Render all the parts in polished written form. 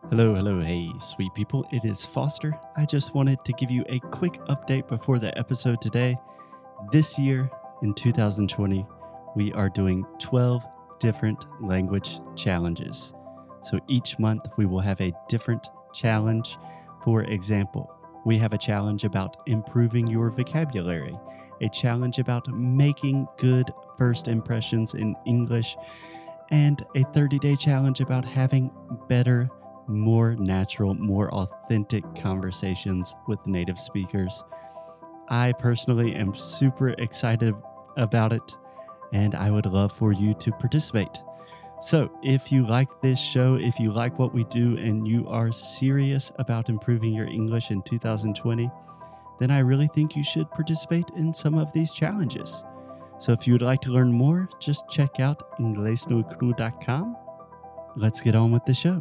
Hello, hey, sweet people. It is Foster. I just wanted to give you a quick update before the episode today. This year, in 2020, we are doing 12 different language challenges. So each month, we will have a different challenge. For example, we have a challenge about improving your vocabulary, a challenge about making good first impressions in English, and a 30-day challenge about having better, more natural, more authentic conversations with native speakers. I personally am super excited about it, and I would love for you to participate. So if you like this show, if you like what we do, and you are serious about improving your English in 2020, then I really think you should participate in some of these challenges. So if you would like to learn more, just check out inglesnuecru.com. Let's get on with the show.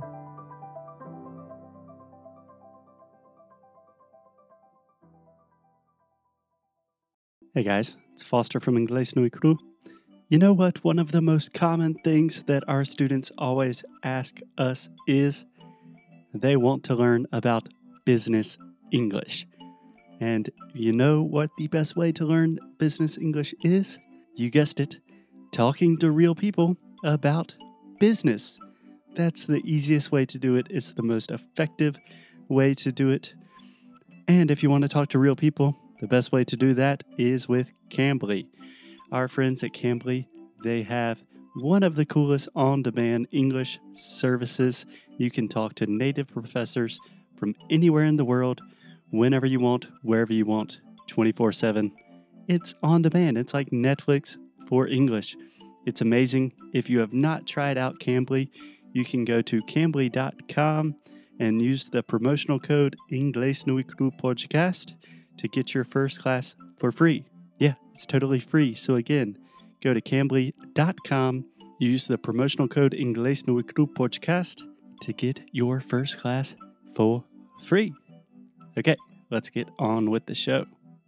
Hey guys, it's Foster from Inglés No Cru. You know what? One of the most common things that our students always ask us is they want to learn about business English. And you know what the best way to learn business English is? You guessed it, talking to real people about business. That's the easiest way to do it. It's the most effective way to do it. And if you want to talk to real people, the best way to do that is with Cambly. Our friends at Cambly, they have one of the coolest on-demand English services. You can talk to native professors from anywhere in the world, whenever you want, wherever you want, 24/7. It's on demand. It's like Netflix for English. It's amazing. If you have not tried out Cambly, you can go to cambly.com and use the promotional code Inglés No Cru Podcast to get your first class for free. Yeah, it's totally free. So again, go to cambly.com, use the promotional code Inglés No Cru Podcast to get your first class for free. Okay, let's get on with the show.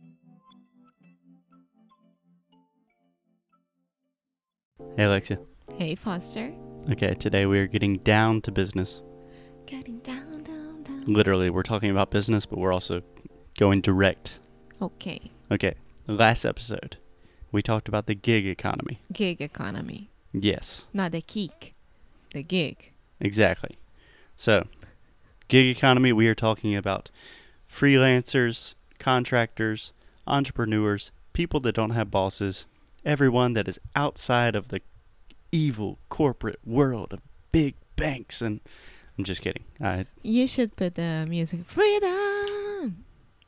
Hey Alexia. Hey Foster. Okay, today we are getting down to business. Getting down. Literally, we're talking about business, but we're also going direct. Okay. Okay, the last episode, we talked about the gig economy. Gig economy. Yes. Not the geek. The gig. Exactly. So, gig economy, we are talking about freelancers, contractors, entrepreneurs, people that don't have bosses, everyone that is outside of the evil corporate world of big banks. And I'm just kidding. You should put the music. Freedom!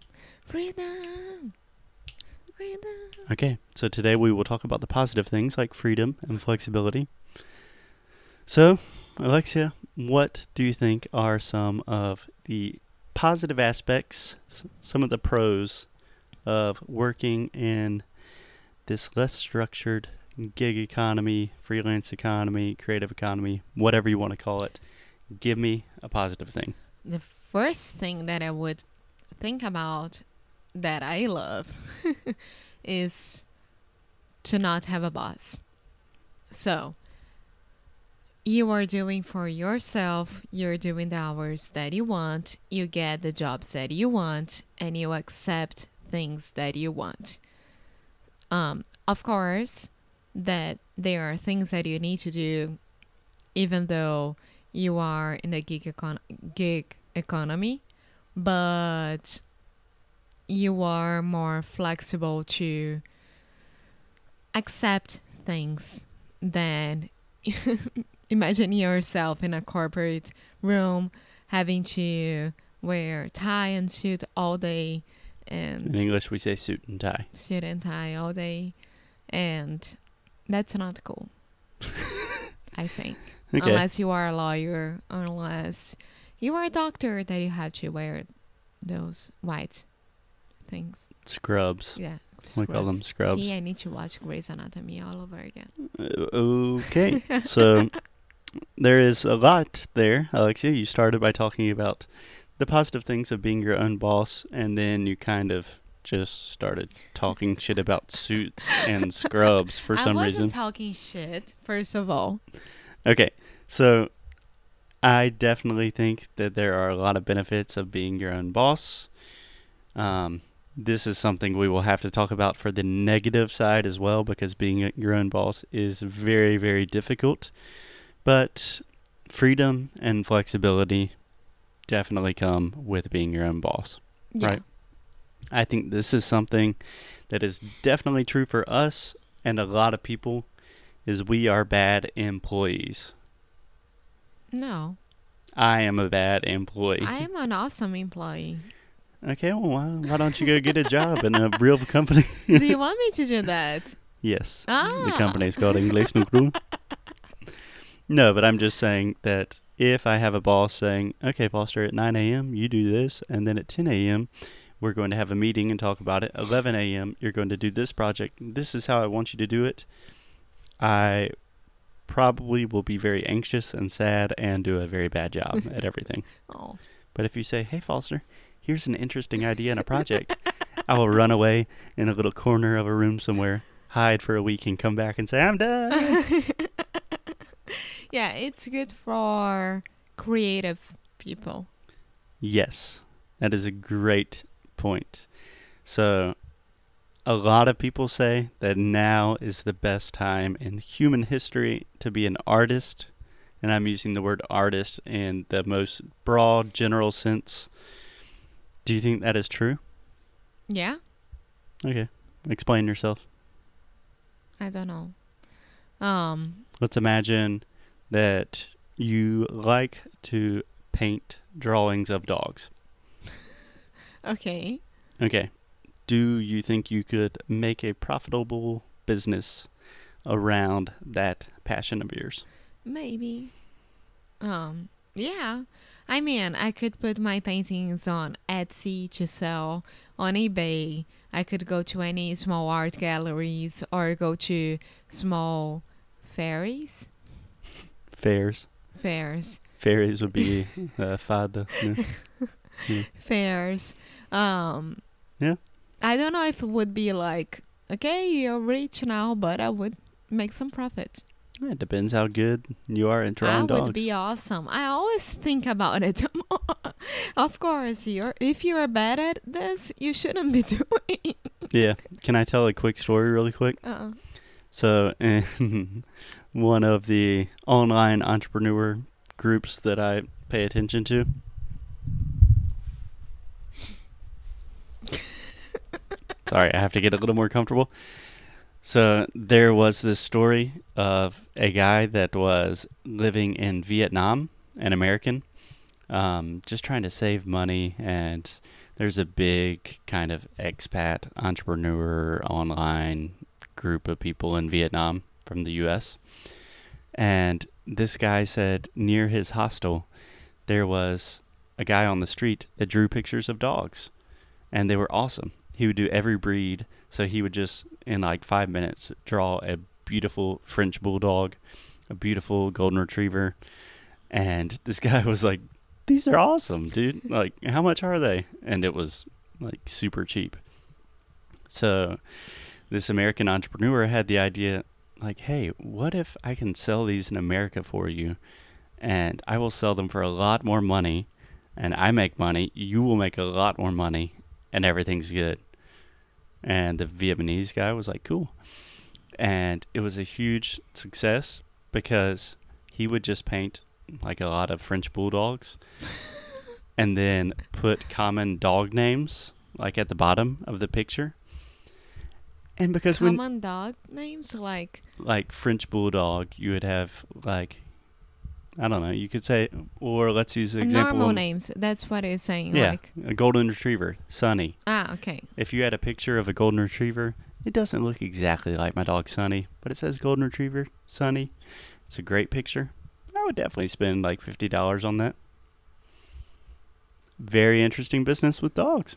Freedom! Freedom! Okay, so today we will talk about the positive things like freedom and flexibility. So, Alexia, what do you think are some of the positive aspects, some of the pros of working in this less structured gig economy, freelance economy, creative economy, whatever you want to call it? Give me a positive thing. The first thing that I would think about that I love is to not have a boss. So, you are doing for yourself, you're doing the hours that you want, you get the jobs that you want, and you accept things that you want. Of course, that there are things that you need to do even though you are in the gig economy, but you are more flexible to accept things than imagine yourself in a corporate room having to wear tie and suit all day. And in English, we say suit and tie. Suit and tie all day. And that's not cool, I think. Okay. Unless you are a lawyer, unless you are a doctor, that you have to wear those white things. Scrubs. Yeah. We call them scrubs. See, I need to watch Grey's Anatomy all over again. Okay. So there is a lot there, Alexia. You started by talking about the positive things of being your own boss, and then you kind of just started talking shit about suits and scrubs for some reason. I wasn't talking shit, first of all. Okay, so I definitely think that there are a lot of benefits of being your own boss. This is something we will have to talk about for the negative side as well, because being your own boss is very, very difficult. But freedom and flexibility definitely come with being your own boss. Yeah. Right. I think this is something that is definitely true for us and a lot of people, is we are bad employees. No, I am a bad employee. I am an awesome employee. Okay, well, why don't you go get a job in a real company? Do you want me to do that? Yes. Ah. The company is called Inglés no Cru. No, but I'm just saying that if I have a boss saying, okay, Foster, at 9 a.m., you do this, and then at 10 a.m., we're going to have a meeting and talk about it. 11 a.m., you're going to do this project. This is how I want you to do it. I probably will be very anxious and sad and do a very bad job at everything. Oh. But if you say, hey, Foster, here's an interesting idea and a project, I will run away in a little corner of a room somewhere, hide for a week, and come back and say, I'm done. Yeah, it's good for creative people. Yes, that is a great point. So a lot of people say that now is the best time in human history to be an artist. And I'm using the word artist in the most broad, general sense. Do you think that is true? Yeah? Okay. Explain yourself. I don't know. Let's imagine that you like to paint drawings of dogs. Okay. Okay. Do you think you could make a profitable business around that passion of yours? Maybe. Yeah. I mean, I could put my paintings on Etsy to sell, on eBay. I could go to any small art galleries or go to small fairs. Fairs. Fairies would be fada. Yeah. Fairs. Yeah. I don't know if it would be like, okay, you're rich now, but I would make some profit. It depends how good you are at drawing dogs. That would be awesome. I always think about it. Of course, if you are bad at this, you shouldn't be doing. Yeah. Can I tell a quick story really quick? So in one of the online entrepreneur groups that I pay attention to, sorry, I have to get a little more comfortable. So there was this story of a guy that was living in Vietnam, an American, just trying to save money. And there's a big kind of expat entrepreneur online group of people in Vietnam from the U.S. And this guy said near his hostel, there was a guy on the street that drew pictures of dogs. And they were awesome. He would do every breed. So he would just, in like 5 minutes, draw a beautiful French bulldog, a beautiful golden retriever. And this guy was like, these are awesome, dude. Like, how much are they? And it was like super cheap. So this American entrepreneur had the idea, like, hey, what if I can sell these in America for you? And I will sell them for a lot more money. And I make money. You will make a lot more money. And everything's good. And the Vietnamese guy was like, cool. And it was a huge success because he would just paint like a lot of French bulldogs and then put common dog names like at the bottom of the picture. And because common dog names like French bulldog, you would have like, I don't know, you could say, or let's use an example. Normal names. That's what it's saying. Yeah, like a golden retriever, Sunny. Ah, okay. If you had a picture of a golden retriever, it doesn't look exactly like my dog Sunny, but it says golden retriever, Sunny. It's a great picture. I would definitely spend like $50 on that. Very interesting business with dogs.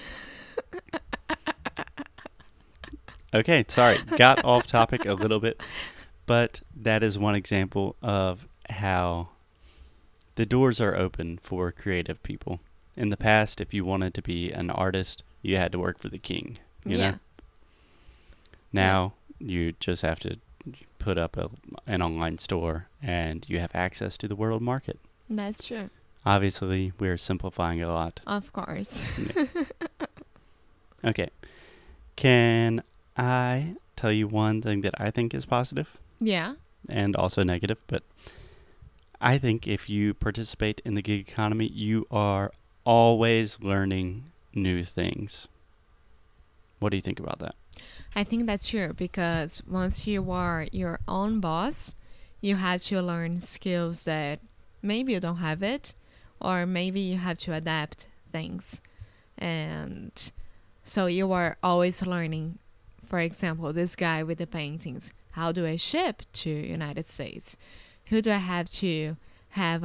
Okay, sorry, got off topic a little bit, but that is one example of how the doors are open for creative people. In the past, if you wanted to be an artist, you had to work for the king, you know? Now, you just have to put up an online store and you have access to the world market. That's true. Obviously, we're simplifying a lot. Of course. Okay. Can I tell you one thing that I think is positive Yeah. and also negative? But I think if you participate in the gig economy, you are always learning new things. What do you think about that? I think that's true because once you are your own boss, you have to learn skills that maybe you don't have it, or maybe you have to adapt things. And so you are always learning. For example, this guy with the paintings. How do I ship to United States? Who do I have to have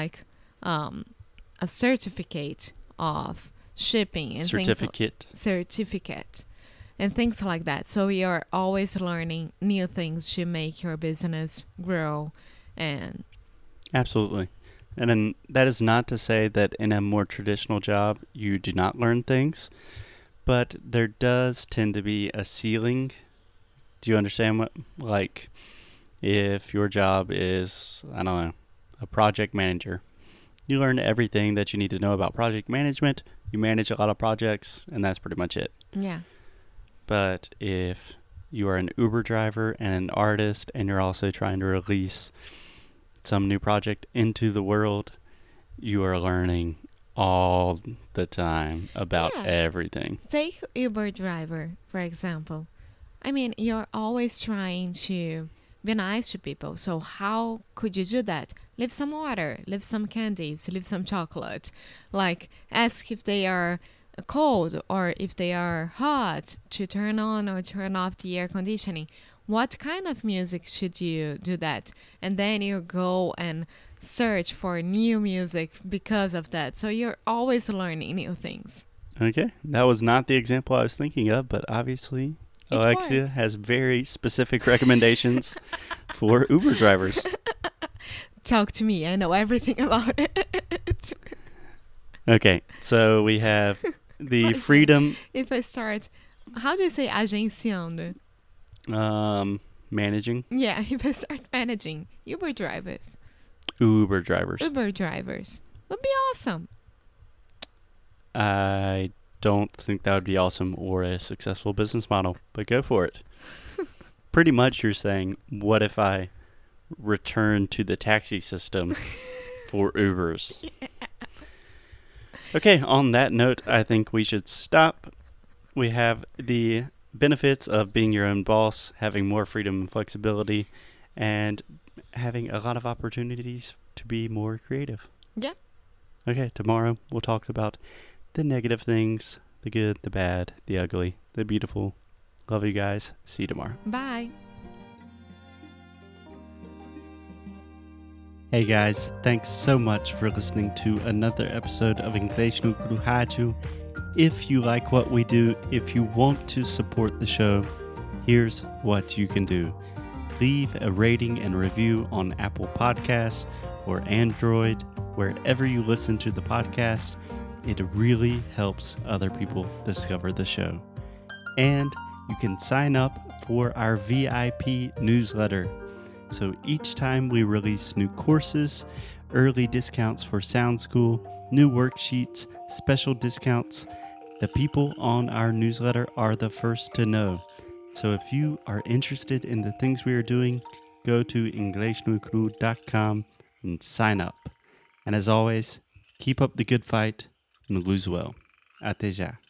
a certificate of shipping and certificate and things like that. So you're always learning new things to make your business grow. And Absolutely. And then that is not to say that in a more traditional job you do not learn things, but there does tend to be a ceiling. Do you understand what, like, if your job is, I don't know, a project manager, you learn everything that you need to know about project management, you manage a lot of projects, and that's pretty much it. yeah, But if you are an Uber driver and an artist and you're also trying to release some new project into the world, you are learning all the time about Yeah. everything. take Uber driver, for example. I mean, you're always trying to be nice to people. So how could you do that? Leave some water, leave some candies, leave some chocolate. Like, ask if they are cold or if they are hot to turn on or turn off the air conditioning. What kind of music should you do that? And then you go and search for new music because of that. So you're always learning new things. Okay, that was not the example I was thinking of, but obviously It Alexia works. has very specific recommendations for Uber drivers. Talk to me. I know everything about it. Okay, so we have the Imagine. freedom If I start, how do you say agenciando? managing Yeah, if I start managing Uber drivers, Uber drivers. Uber drivers would be awesome. I don't think that would be awesome or a successful business model, but go for it. Pretty much you're saying, what if I return to the taxi system for Ubers? Okay, on that note, I think we should stop. We have the benefits of being your own boss, having more freedom and flexibility, and having a lot of opportunities to be more creative. Yeah. Okay, tomorrow we'll talk about the negative things, the good, the bad, the ugly, the beautiful. Love you guys. See you tomorrow. Bye. Hey guys, thanks so much for listening to another episode of Inglês no Cru Rádio. If you like what we do, if you want to support the show, here's what you can do. Leave a rating and review on Apple Podcasts or Android, wherever you listen to the podcast. It really helps other people discover the show. And you can sign up for our VIP newsletter. So each time we release new courses, early discounts for Sound School, new worksheets, special discounts, the people on our newsletter are the first to know. So if you are interested in the things we are doing, go to inglesnuecru.com and sign up. And as always, keep up the good fight and lose well. Até já.